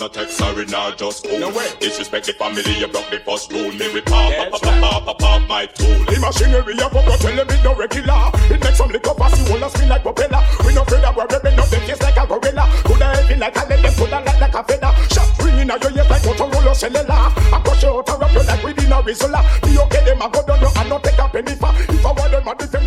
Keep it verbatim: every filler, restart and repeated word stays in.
no text, sorry, nah, just cool. No way. Disrespect the family, you broke the first rule. Me with pop, pop, pop, pop, pop, pop, my tool. The machinery of a tell them it no regular. It makes some liquor pass, you wanna spin like propeller. We no afraid that we're ripping up them face like a gorilla. Coulda heavy like a lead, them coulda light like a feather. Shot ringing out your ears like Motorola cellular. I push you out, I rap you like within a Rizzola. The okay, them a go down, you and not take a penny for. If I want them a defend